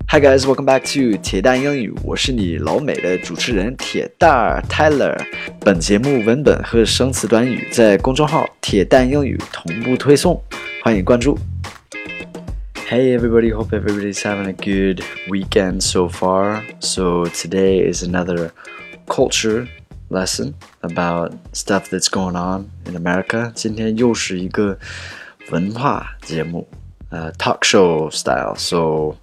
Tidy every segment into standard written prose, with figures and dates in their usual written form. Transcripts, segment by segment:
Hi guys, welcome back to 铁蛋英语，我是你老美的主持人铁蛋儿 Tyler。本节目文本和生词短语在公众号铁蛋英语同步推送，欢迎关注。Hey everybody, hope everybody's having a good weekend so far. So today is another culture lesson about stuff that's going on in America. 今天又是一个文化节目，talk show style. So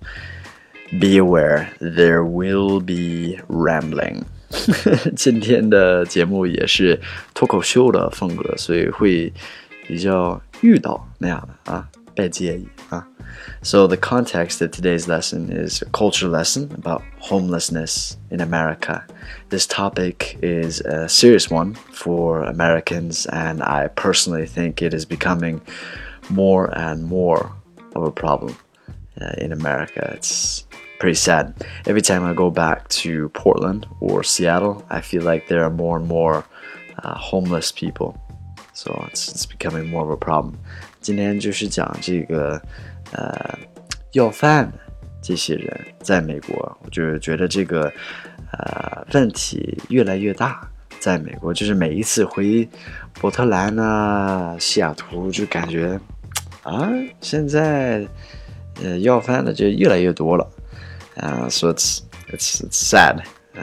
be aware, there will be rambling. 今天的节目也是脱口秀的风格，所以会比较遇到那样的啊，别介意啊。So the context of today's lesson is a culture lesson about homelessness in America. This topic is a serious one for Americans, and I personally think it is becoming more and more of a problem in America. It's pretty sad. Every time I go back to Portland or Seattle, I feel like there are more and more homeless people. So it's becoming more of a problem. 今天就是讲这个要饭的这些人在美国，我就觉得这个问题越来越大。在美国，就是每一次回波特兰啊、西雅图，就感觉现在要饭的就越来越多了。So it's sad.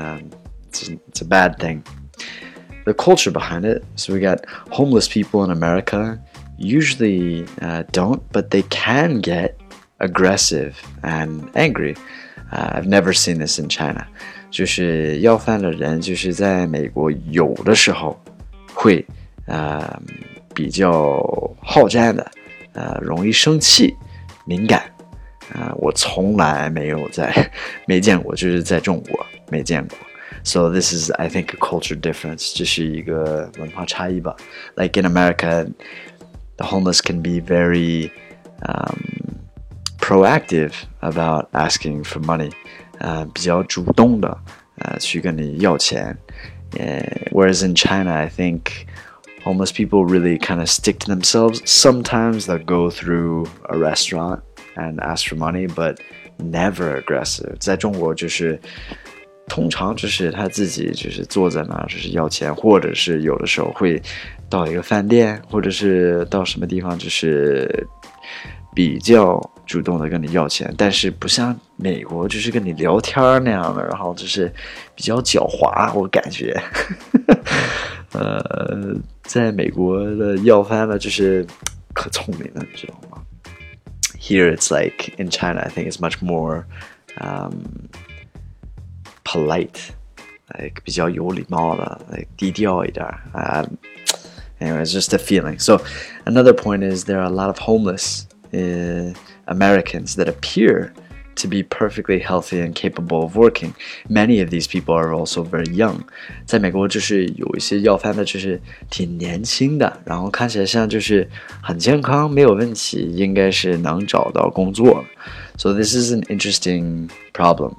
It's a bad thing. The culture behind it. So we got homeless people in America. Usually don't, but they can get aggressive and angry. I've never seen this in China. 就是要饭的人，就是在美国有的时候会比较好战的，容易生气、敏感。我从来没见过，就是在中国没见过。So this is, I think, a culture difference. 这是一个文化差异吧。Like in America, the homeless can be very proactive about asking for money. 比较主动的去跟你要钱。Whereas in China, I think homeless people really kind of stick to themselves. Sometimes they'll go through a restaurant and ask for money, but never aggressive. 在中国就是通常就是他自己就是坐在那儿就是要钱，或者是有的时候会到一个饭店，或者是到什么地方就是比较主动的跟你要钱，但是不像美国就是跟你聊天那样的，然后就是比较狡猾，我感觉在美国的要饭的就是可聪明了，你知道吗？Here it's like in China, I think it's much more polite, like 比较有礼貌的 like 低调一点。Anyway, it's just a feeling. So another point is there are a lot of homeless Americans that appear to be perfectly healthy and capable of working. Many of these people are also very young. 在美国就是有一些要饭的就是挺年轻的，然后看起来像就是很健康，没有问题，应该是能找到工作。So this is an interesting problem.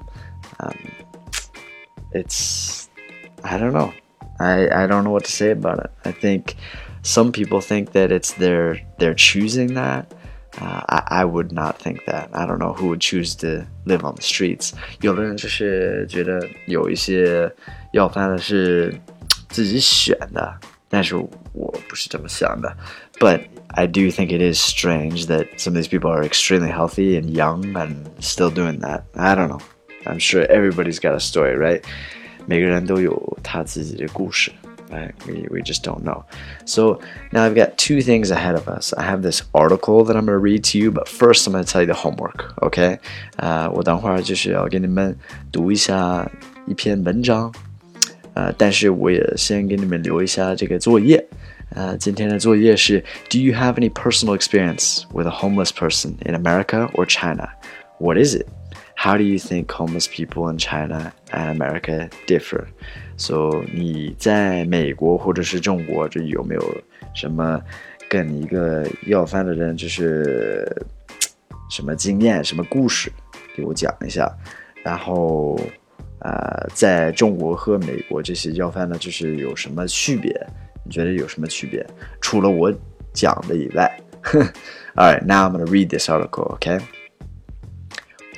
It's, I don't know. I don't know what to say about it. I think some people think that it's they're choosing that. I would not think that. I don't know who would choose to live on the streets. 有的人就是觉得有一些要饭的是自己选的，但是我不是这么想的。But I do think it is strange that some of these people are extremely healthy and young and still doing that. I don't know. I'm sure everybody's got a story, right? 每个人都有他自己的故事。Right? We just don't know. So now I've got two things ahead of us. I have this article that I'm going to read to you, but first I'm going to tell you the homework, okay? 我等会儿就是要给你们读一下一篇文章，但是我也先给你们留一下这个作业。今天的作业是 Do you have any personal experience with a homeless person in America or China? What is it? How do you think homeless people in China and America differ? So 你在美国或者是中国，这有没有什么跟一个要饭的人就是什么经验、什么故事，给我讲一下。然后在中国和美国这些要饭的，就是有什么区别？你觉得有什么区别？除了我讲的以外。All right, now I'm going to read this article, okay?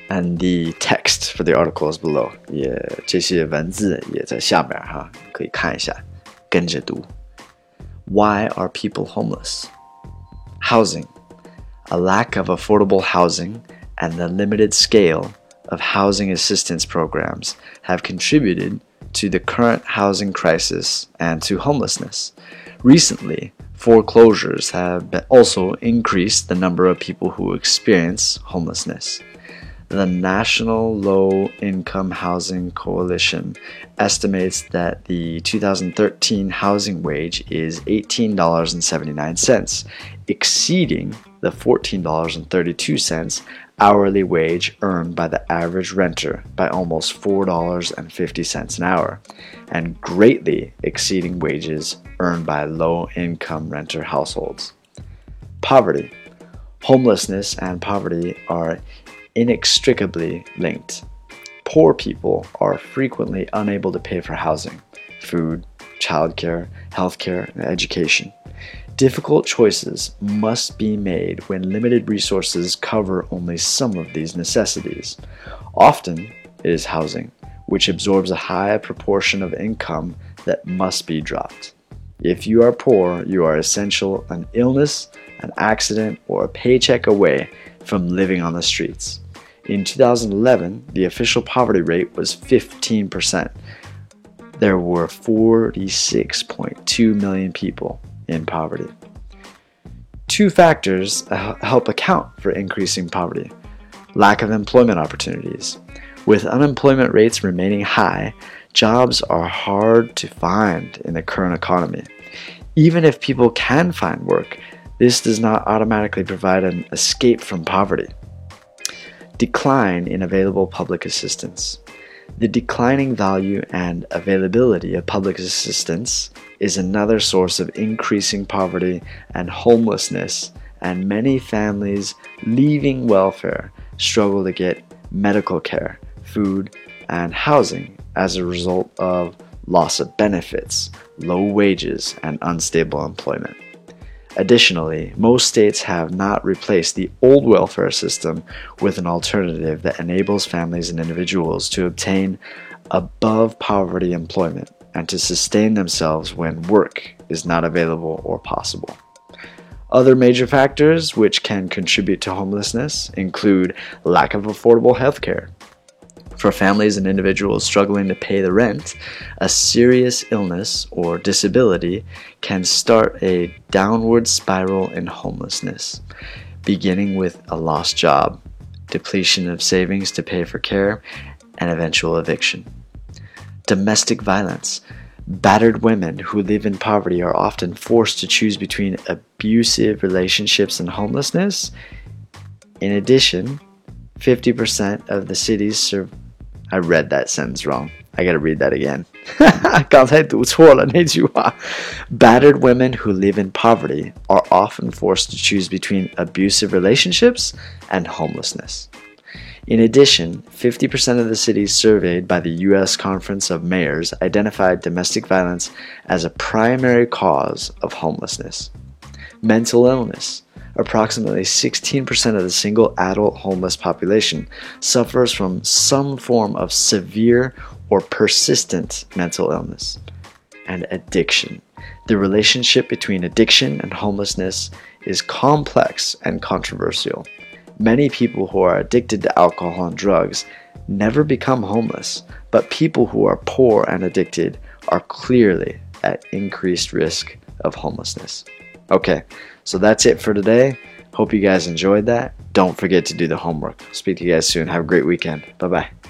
And the text for the article is below. 这些文字也在下面哈，可以看一下，跟着读。Why are people homeless? Housing. A lack of affordable housing and the limited scale of housing assistance programs have contributed to the current housing crisis and to homelessness. Recently, foreclosures have also increased the number of people who experience homelessness. The National Low Income Housing Coalition estimates that the 2013 housing wage is $18.79, exceeding the $14.32 hourly wage earned by the average renter by almost $4.50 an hour, and greatly exceeding wages earned by low-income renter households. Poverty. Homelessness and poverty are inextricably linked. Poor people are frequently unable to pay for housing, food, childcare, healthcare, and education. Difficult choices must be made when limited resources cover only some of these necessities. Often, it is housing, which absorbs a high proportion of income that must be dropped. If you are poor, you are essentially an illness, an accident, or a paycheck away from living on the streets. In 2011, the official poverty rate was 15%. There were 46.2 million people in poverty. Two factors help account for increasing poverty. Lack of employment opportunities. With unemployment rates remaining high, jobs are hard to find in the current economy. Even if people can find work, this does not automatically provide an escape from poverty. Decline in available public assistance. The declining value and availability of public assistance is another source of increasing poverty and homelessness, and many families leaving welfare struggle to get medical care, food, and housing as a result of loss of benefits, low wages, and unstable employment. Additionally, most states have not replaced the old welfare system with an alternative that enables families and individuals to obtain above poverty employment and to sustain themselves when work is not available or possible. Other major factors which can contribute to homelessness include lack of affordable health care. For families and individuals struggling to pay the rent, a serious illness or disability can start a downward spiral in homelessness, beginning with a lost job, depletion of savings to pay for care, and eventual eviction. Domestic violence. Battered women who live in poverty are often forced to choose between abusive relationships and homelessness. In addition, 50% of the cities I read that sentence wrong. I gotta read that again. 刚才读错了那句话. Battered women who live in poverty are often forced to choose between abusive relationships and homelessness. In addition, 50% of the cities surveyed by the U.S. Conference of Mayors identified domestic violence as a primary cause of homelessness. Mental illness. Approximately 16% of the single adult homeless population suffers from some form of severe or persistent mental illness. And addiction. The relationship between addiction and homelessness is complex and controversial. Many people who are addicted to alcohol and drugs never become homeless, but people who are poor and addicted are clearly at increased risk of homelessness. Okay, so that's it for today. Hope you guys enjoyed that. Don't forget to do the homework. Speak to you guys soon. Have a great weekend. Bye-bye.